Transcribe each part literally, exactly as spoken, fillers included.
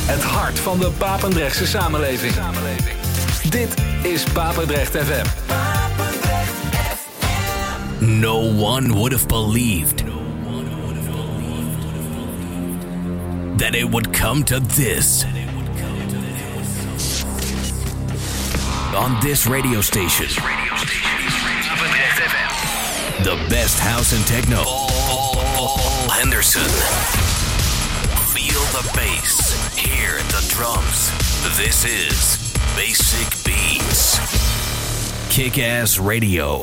Het hart van de Papendrechtse samenleving. Dit is Papendrecht F M. No one would have believed that it would come to this. On this radio station, the best house and techno. Paul Henderson. Feel the bass. Hear the drums. This is Basic Beats. Kick-Ass Radio.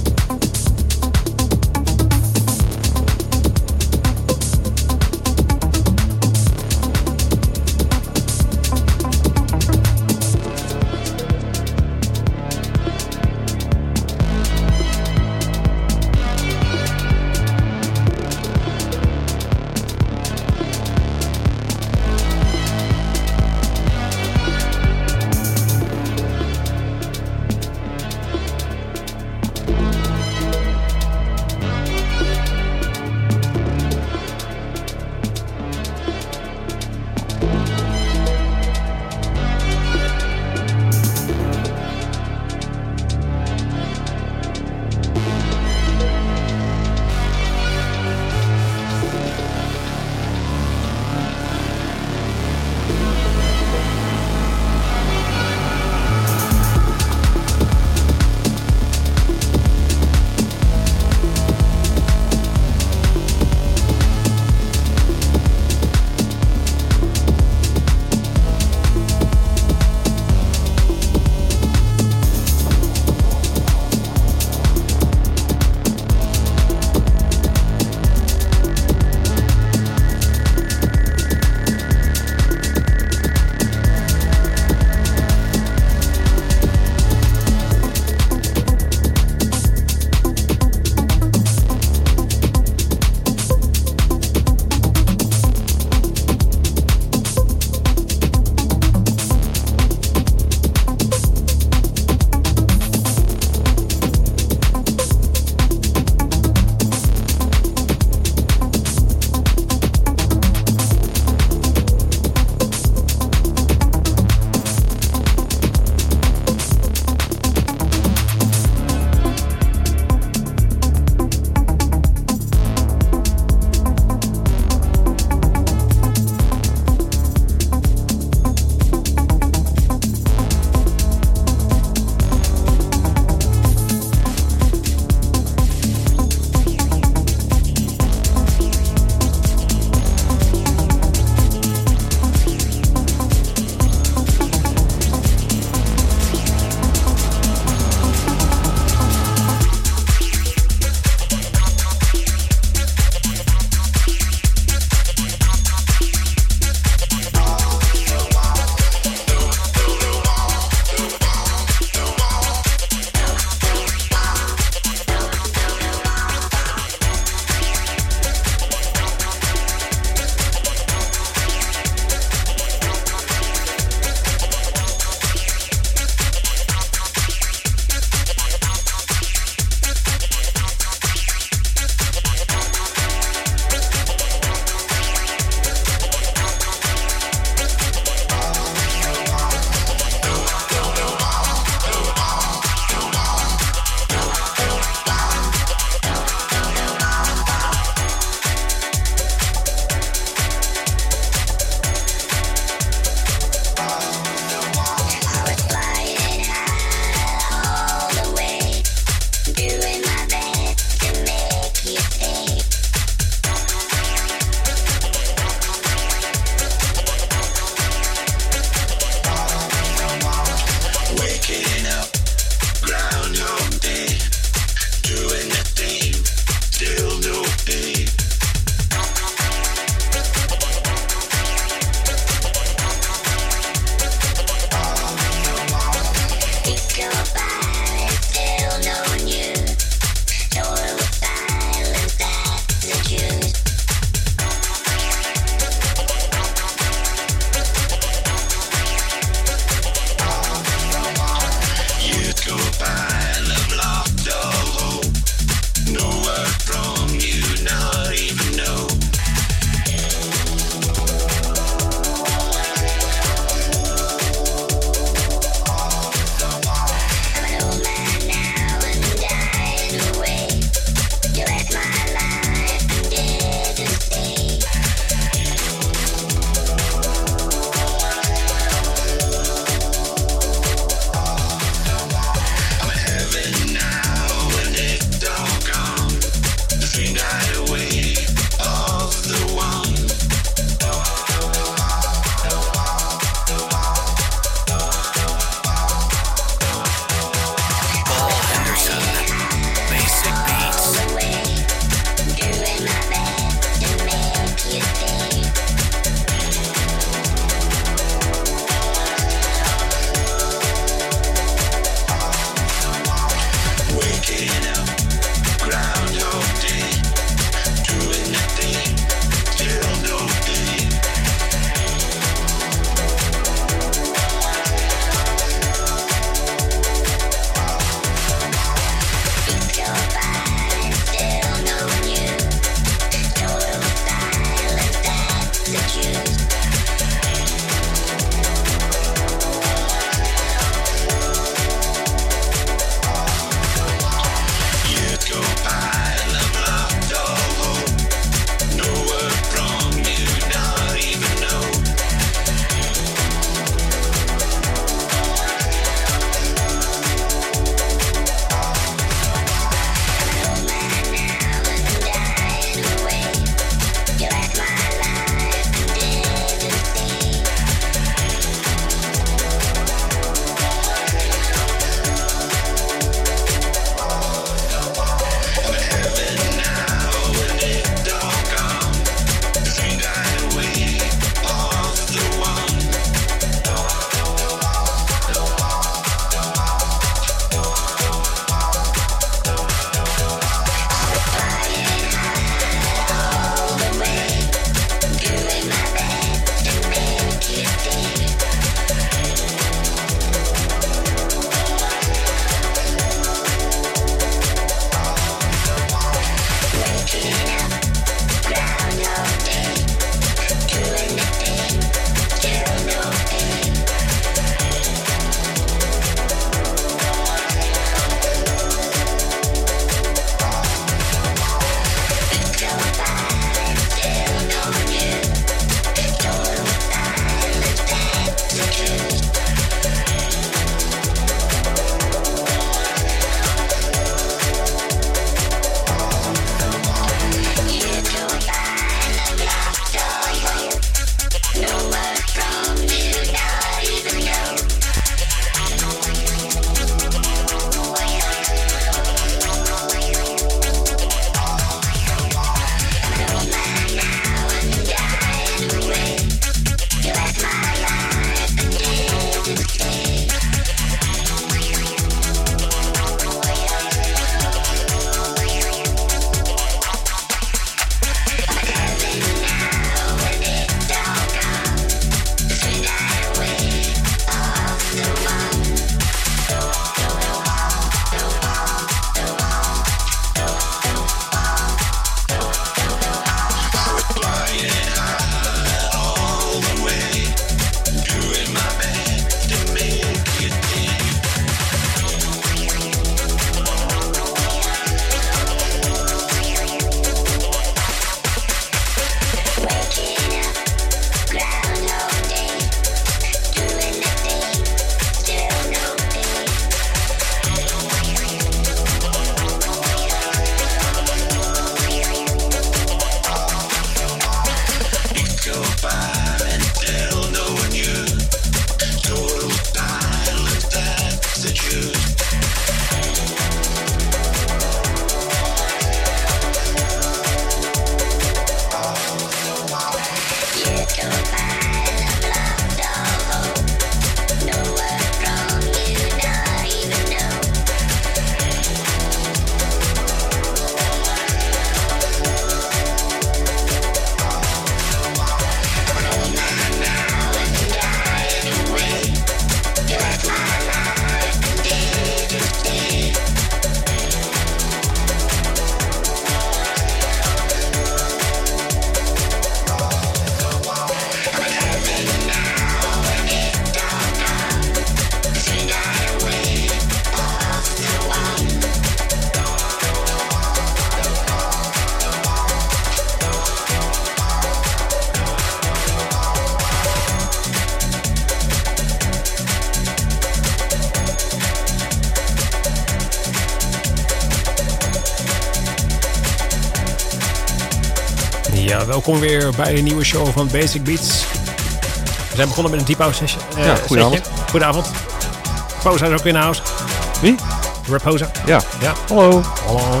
welkom weer bij een nieuwe show van Basic Beats. We zijn begonnen met een deep house session. Uh, ja, goedenavond. Goedenavond. Raposa is ook in de house. Wie? Raposa. Ja. ja. Hallo. Hallo.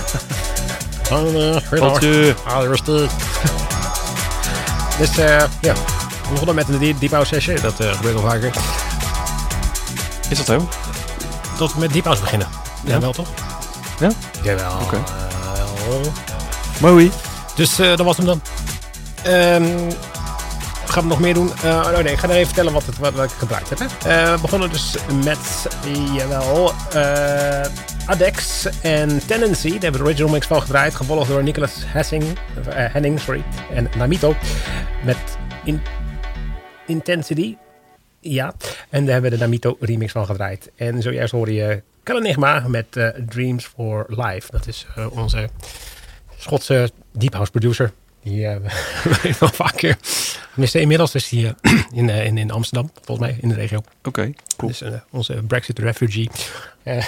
Wat je? Ah, rustig. Dus uh, ja, we begonnen met een deep house session. Dat uh, gebeurt al vaker. Is dat zo? Tot met deep house beginnen. Ja, ja wel toch? Ja? Jawel. Oké. Okay. Uh, Mooi. Dus uh, dat was hem dan. Um, gaan we nog meer doen? Uh, oh nee, ik ga even vertellen wat, het, wat, wat ik gebruikt heb. Hè. Uh, we begonnen dus met, jawel, uh, Adex en Tendency. Daar hebben we de original mix van gedraaid. Gevolgd door Nicholas Hessing, uh, Henning sorry, en Namito. Met in, Intensity. Ja, en daar hebben we de Namito remix van gedraaid. En zojuist hoorde je Kalanigma met uh, Dreams for Life. Dat is uh, onze Schotse deep house producer. Die uh, we wel vaker. Tenminste, inmiddels is hij uh, in, uh, in, in Amsterdam, volgens mij, in de regio. Oké, okay, cool. Dus uh, onze Brexit refugee. Uh,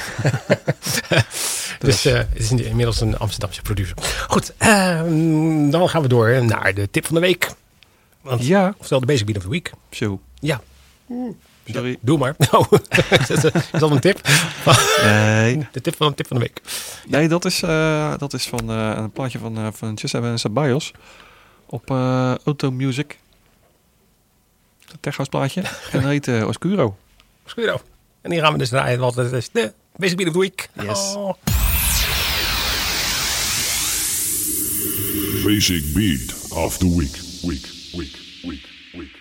dus uh, het is inmiddels een Amsterdamse producer. Goed, uh, dan gaan we door naar de tip van de week. Want, ja. Oftewel de Basic Beat of the Week. Zo. Ja. Sorry. Doe maar. Oh, is dat een tip? Nee. De tip van een tip van de week. Nee, dat is, uh, dat is van uh, een plaatje van, uh, van Giuseppe Ceballos op uh, Auto Music. Een techhouse plaatje. En dat heet uh, Oscuro. Oscuro. En die gaan we dus draaien, want het is de Basic Beat of the Week. Yes. Oh. Basic Beat of the Week. Week, week, week, week.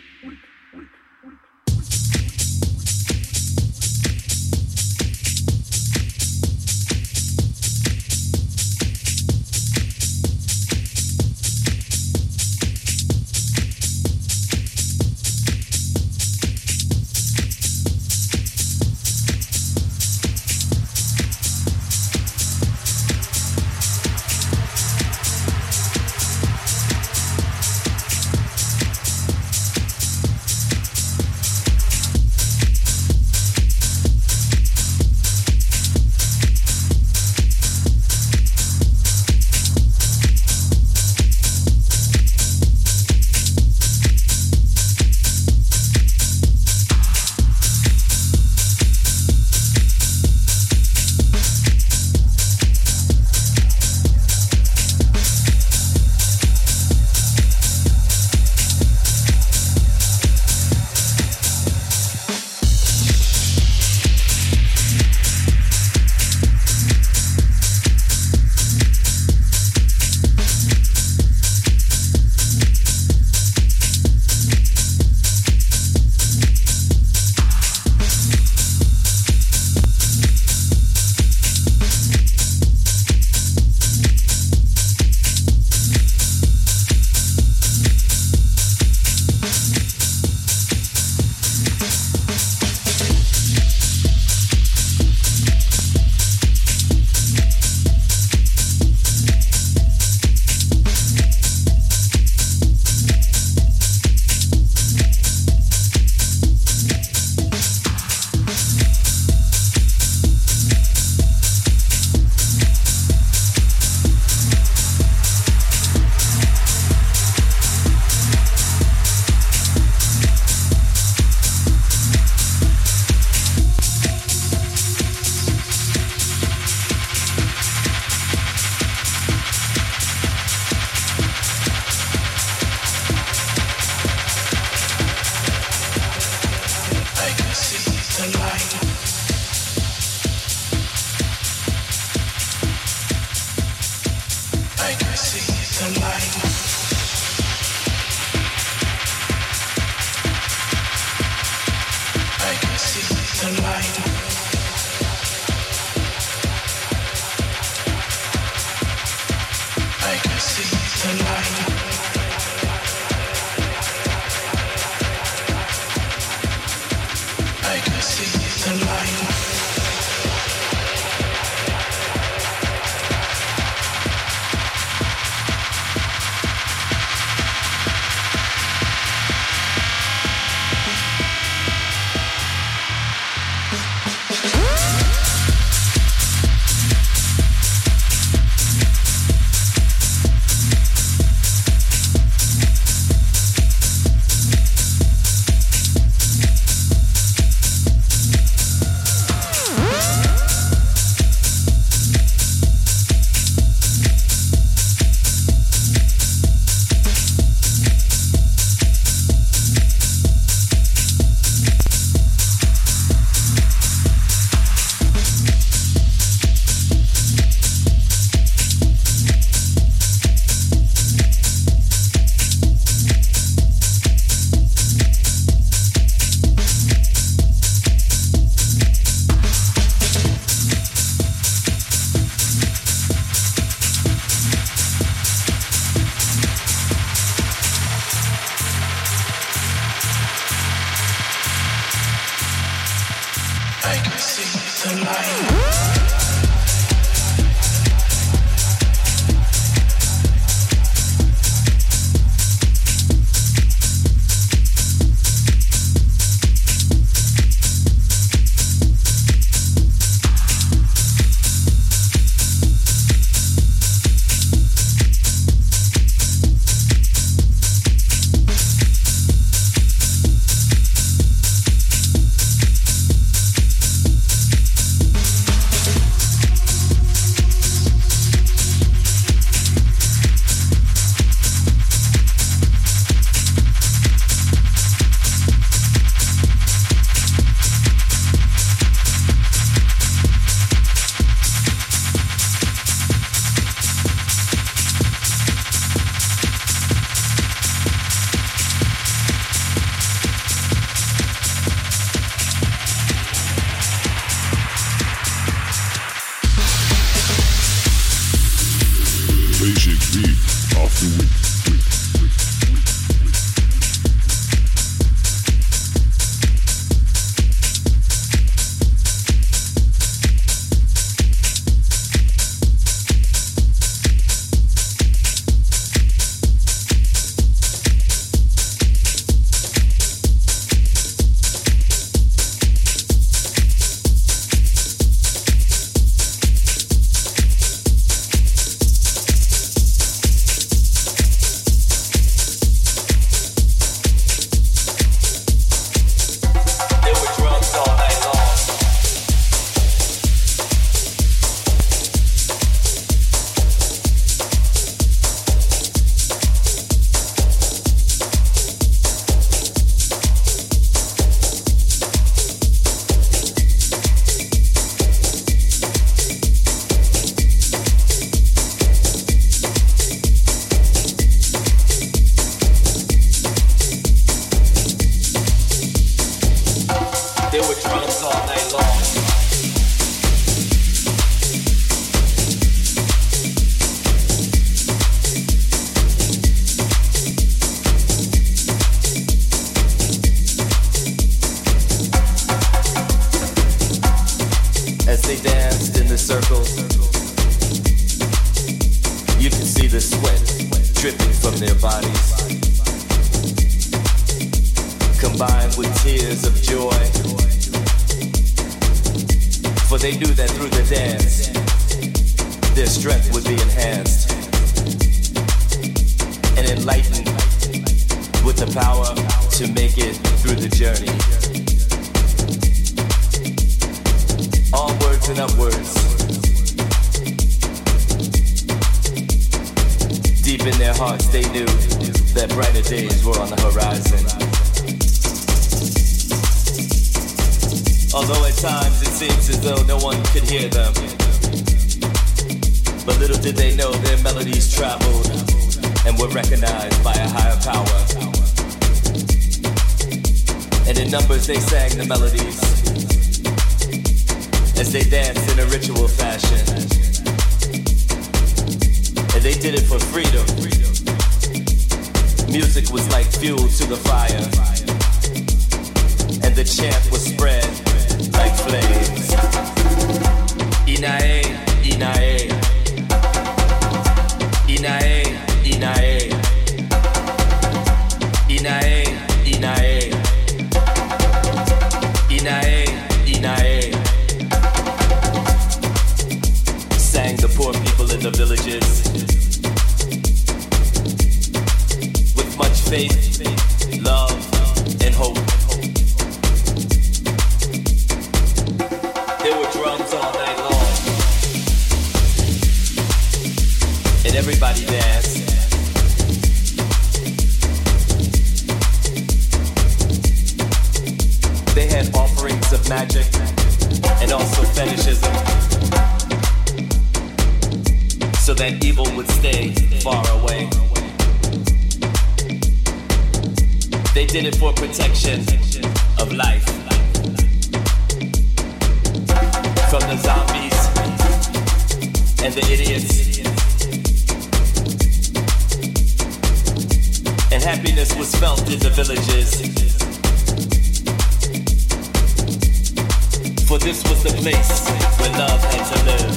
for this was the place where love had to live.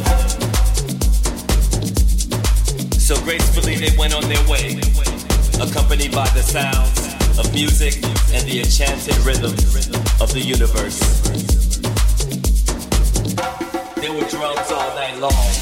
So gracefully they went on their way, accompanied by the sounds of music and the enchanted rhythm of the universe. There were drums all night long.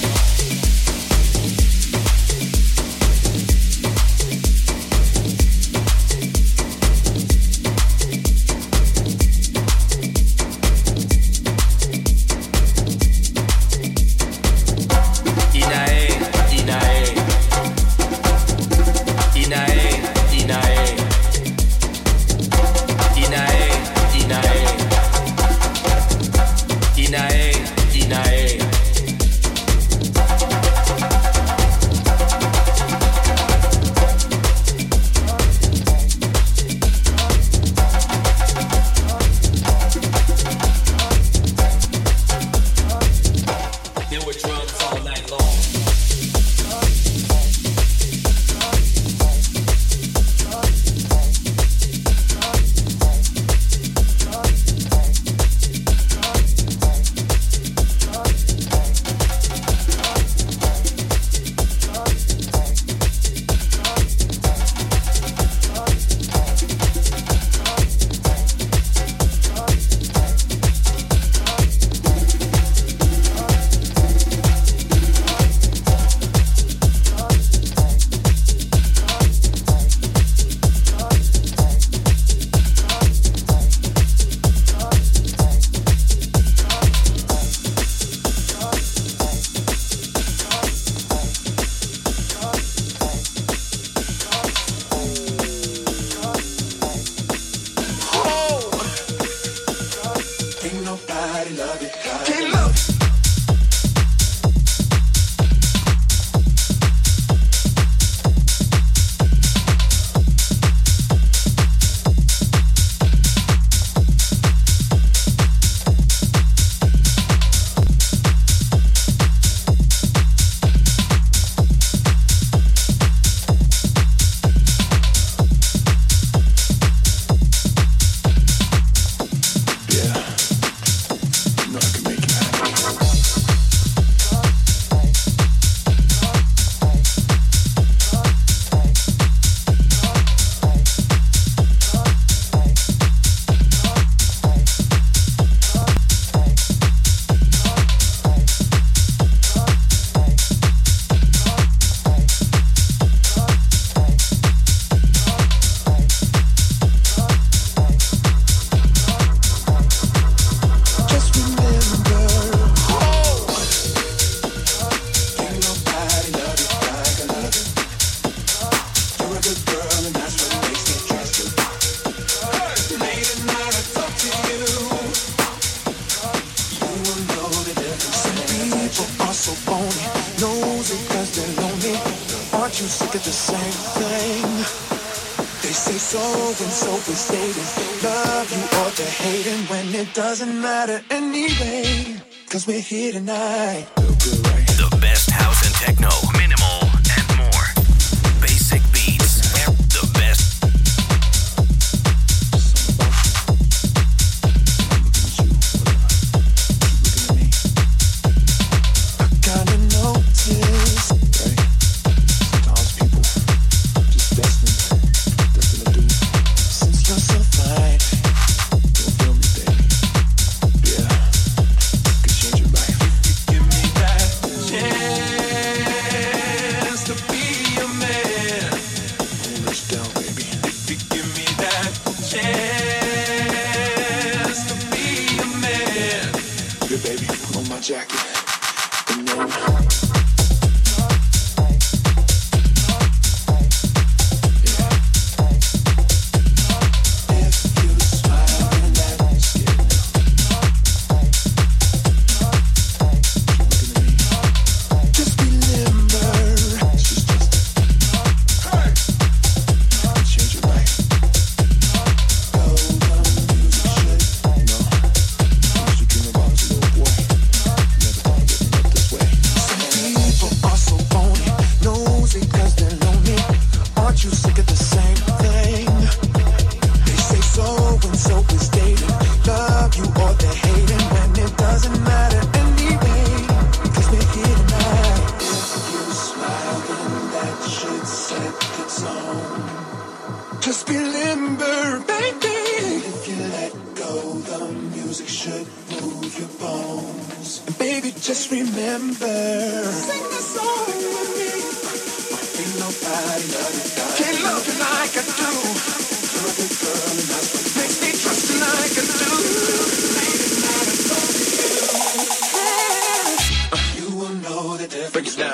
Doesn't matter anyway, cause we're here tonight. The best house and techno, minimal and more. Basic beats, the best. I kinda noticed, right? Sometimes people just destined, destined to do. Since you're so fine, don't feel me, baby. Yeah, could change your life. You give me that. Just remember, sing the song with me. Ain't nobody love you like can love you like I do. Love you, girl, and that's what makes me trust you like I do. Late at night, I love you. You will know the difference. Break it down.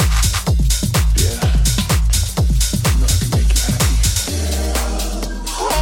Oh,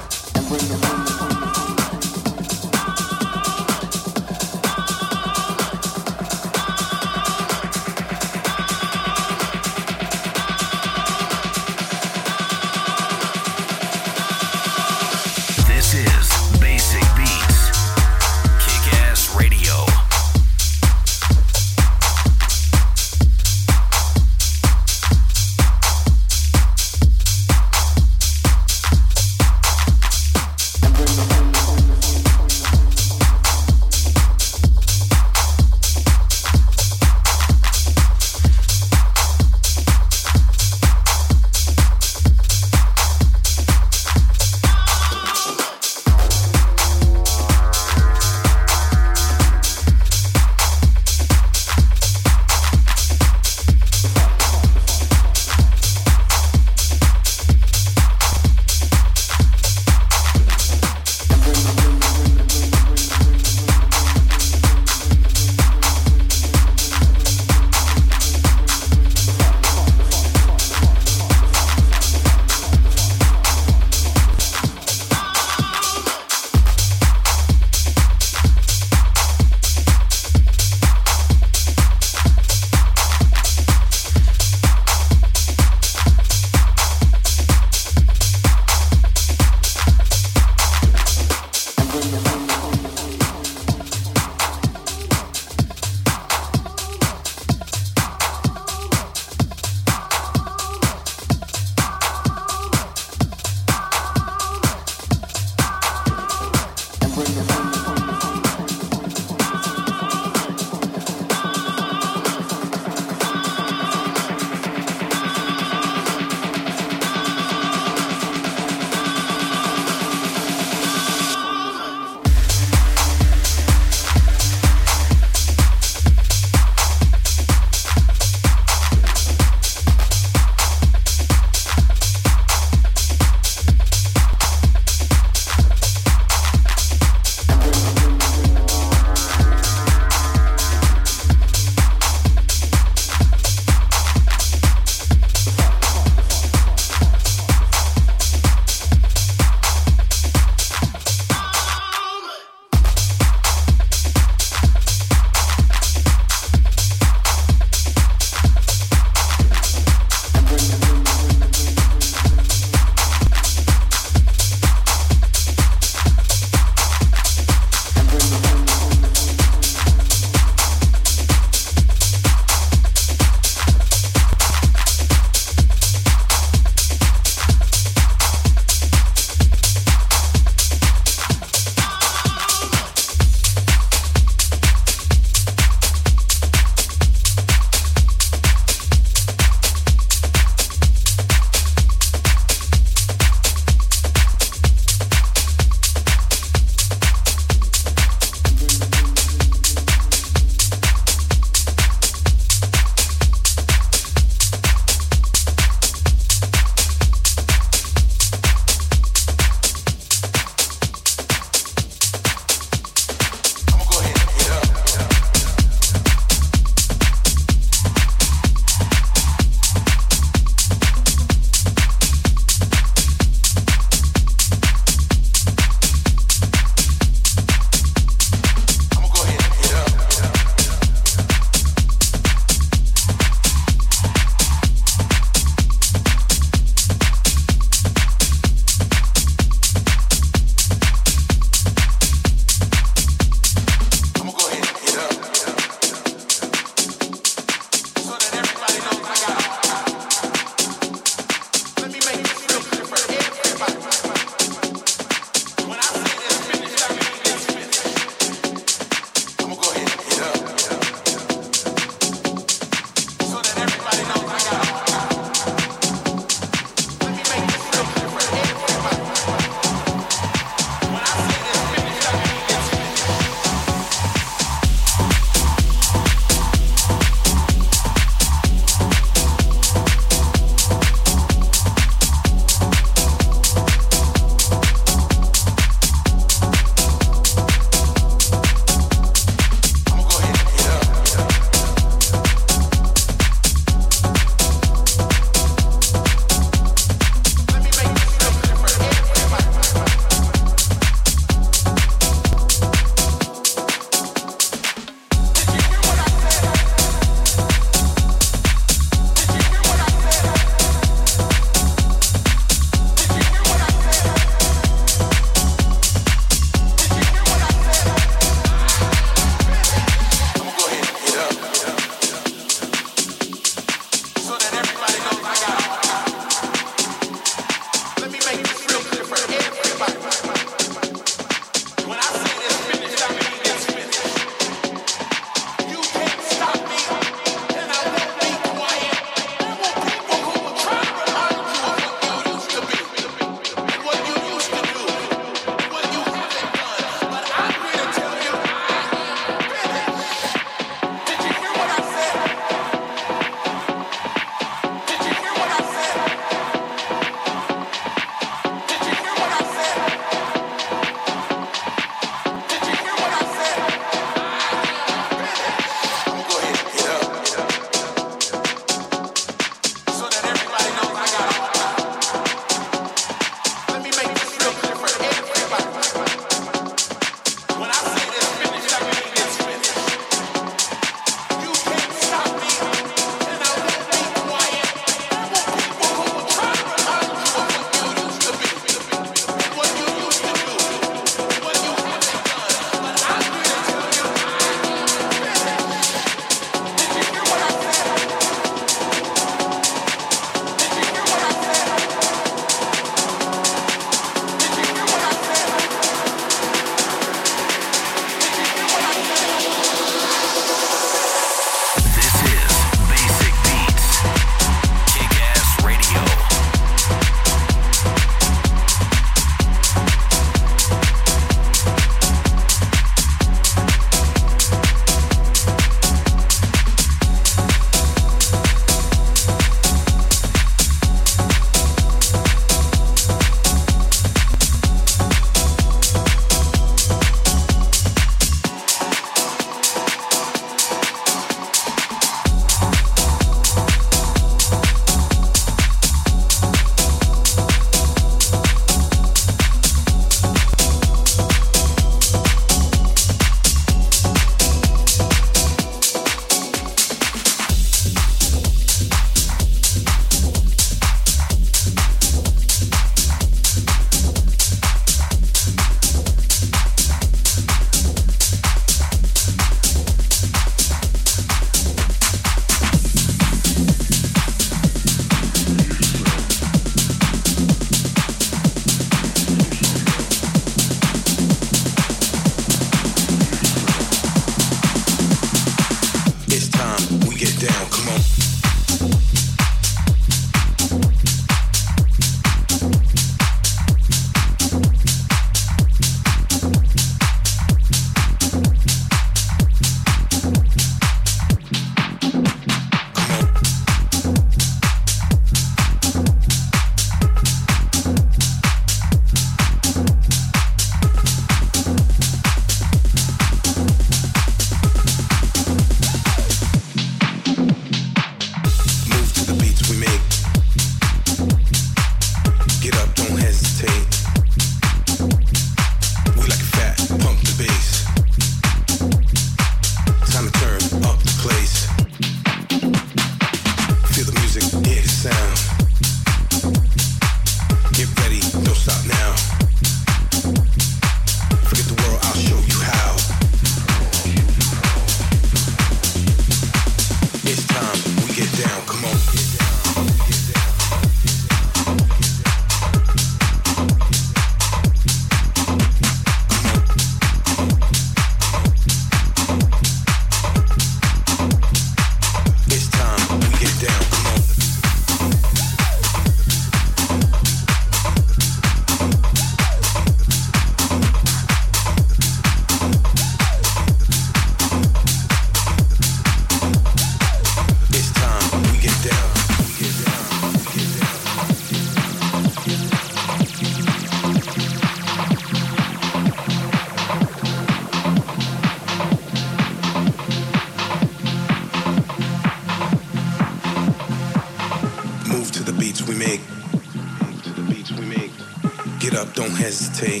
up, don't hesitate.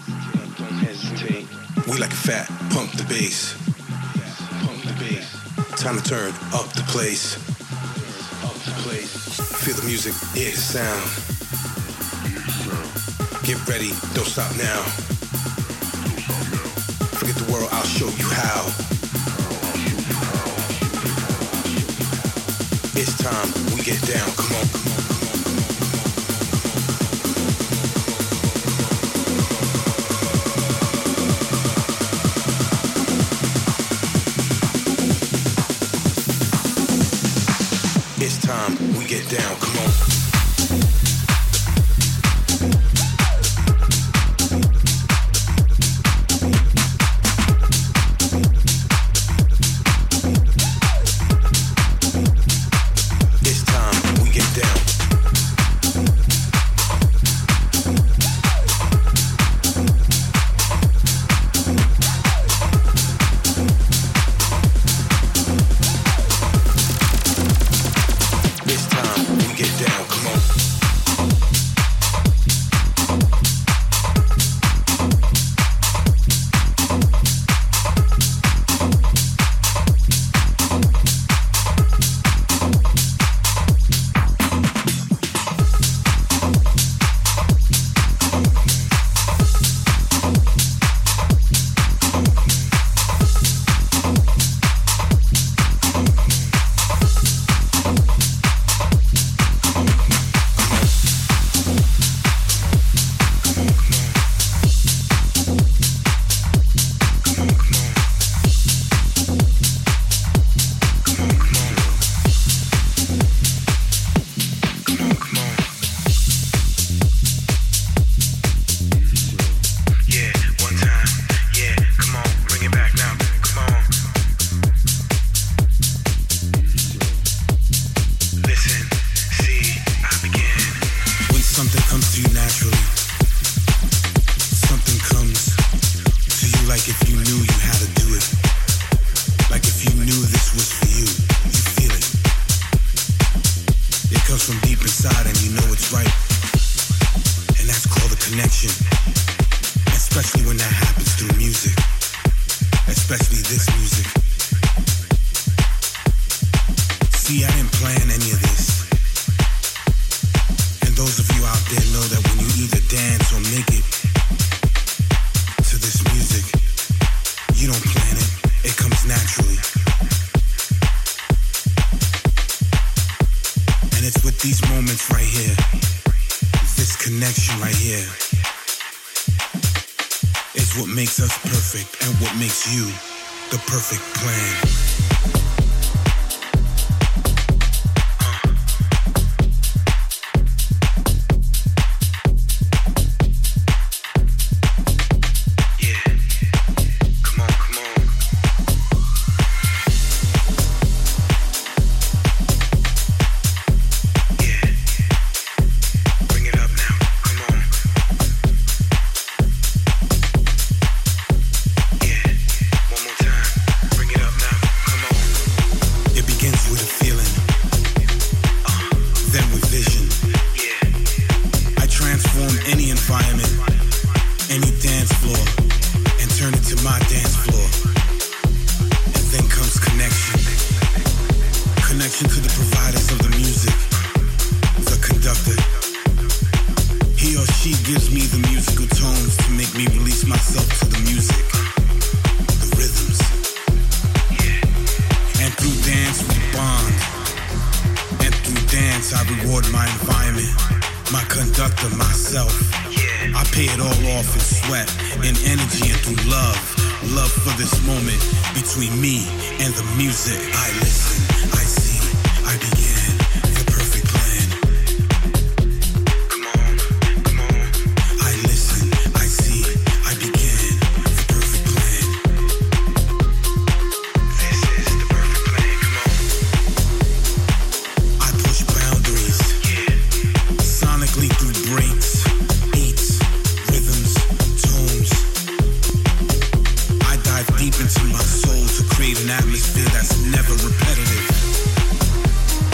We like it fat, pump the bass. Pump the bass. Time to turn up the place. Up the place. Feel the music, hear the sound. Get ready, don't stop now. Forget the world, I'll show you how. It's time, we get down, come on, come on, come on, come on, come on. It's time, we get down, come on.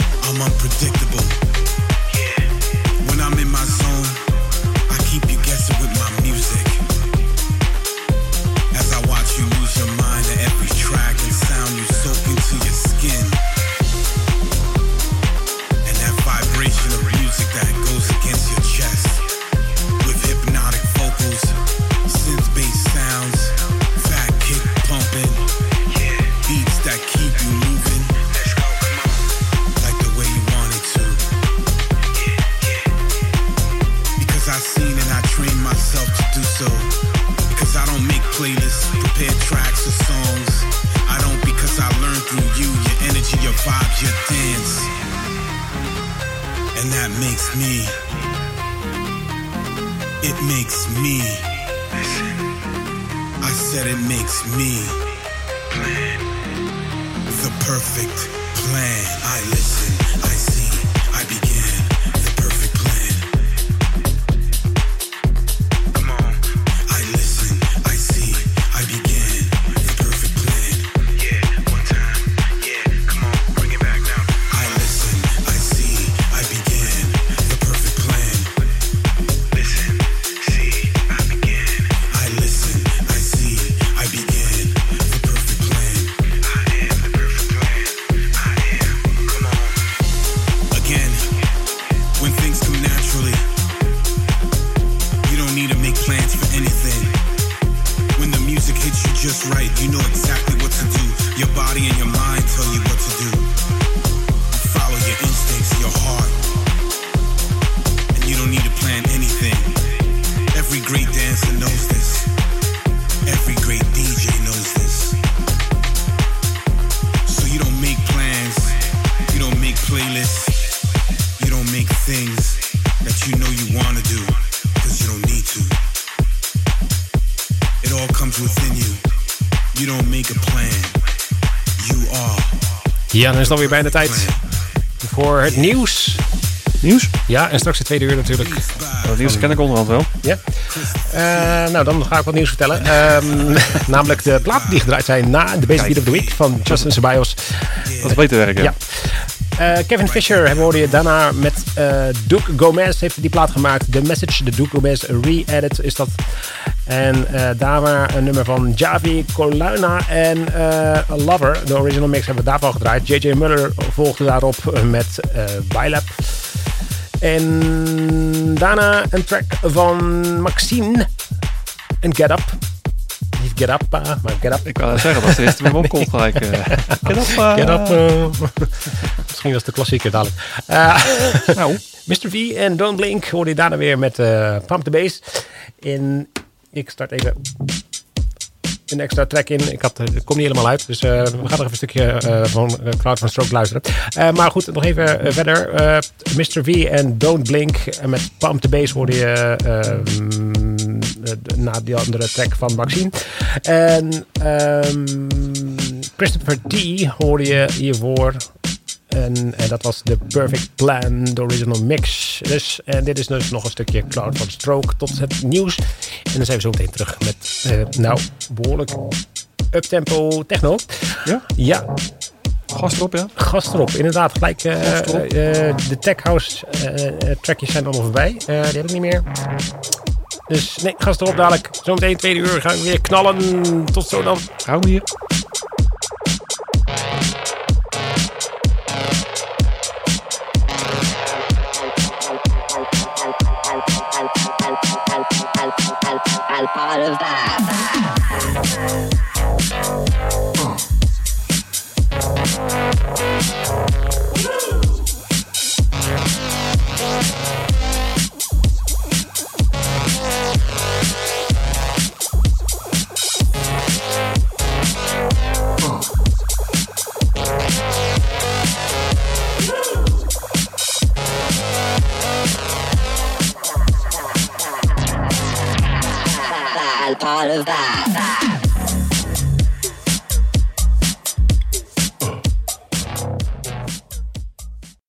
I'm unpredictable. When I'm in my zone, I keep you guessing tracks or songs. I don't because I learned through you, your energy, your vibe, your dance. And that makes me. It makes me. I said it makes me. Plan. The perfect plan. I listen, I see, I begin. The perfect plan. Come on. I listen, I see, I begin. The perfect plan. Yeah, one time. Yeah, come on, bring it back now. I listen, I see, I begin. The perfect plan. Listen, see, I begin. I listen, I see, I begin. The perfect plan. I am the perfect plan. I am. Come on. Again, when things come naturally, you don't need to make plans for anything. When the music hits you just right, you know exactly what to do. Your body and your mind tell you what to do. You follow your instincts, your heart. And you don't need to plan anything. Every great dancer knows this. Every great D J knows this. So you don't make plans. You don't make playlists. You don't make things that you know you want to do. Because you don't need to. It all comes within you. You don't make a plan. You are. Ja, dan is het alweer bijna tijd voor het nieuws. Nieuws? Ja, en straks de tweede uur natuurlijk. Dat nieuws ken ik onderhand wel. Ja. Uh, nou, dan ga ik wat nieuws vertellen. Um, namelijk de platen die gedraaid zijn na de Basic Beat of the Week van Justin Ceballos. Dat is beter werken. Ja. Uh, Kevin Fisher hoorde je daarna met uh, Duke Gomez heeft die plaat gemaakt. The Message, de Duke Gomez re-edit is dat. En uh, daar waren een nummer van Javi Colonna en uh, Lover. De original mix hebben we daarvan gedraaid. J J Muller volgde daarop met uh, Bylab. En daarna een track van Maxine en Get Up. Niet Get Up, uh, maar Get Up. Ik wou zeggen, dat is de eerste met mijn opkomt gelijk. Uh, get Up. Uh, Get Up. Uh, misschien was de klassieker dadelijk. Uh, nou. mister V en Don't Blink hoorde je daarna weer met uh, Pump the Bass. In, ik start even een extra track in. Ik had, het komt niet helemaal uit. Dus uh, we gaan nog even een stukje uh, van uh, Cloud van Stroke luisteren. Uh, maar goed, nog even uh, verder. Uh, mister V en Don't Blink. En met Pump the Bass hoorde je um, uh, na die andere track van Maxine. En um, Christopher T hoorde je hiervoor. En, en dat was de Perfect Plan, de original mix. Dus, en dit is dus nog een stukje Cloud van Stroke tot het nieuws. En dan zijn we zo meteen terug met, uh, nou, behoorlijk uptempo techno. Ja? Ja. Gas erop, ja? Gas erop, inderdaad. Gelijk, uh, uh, de tech house uh, trackjes zijn allemaal voorbij. Uh, die heb ik niet meer. Dus nee, gas erop dadelijk. Zometeen tweede uur gaan we weer knallen. Tot zo dan. Hou hier.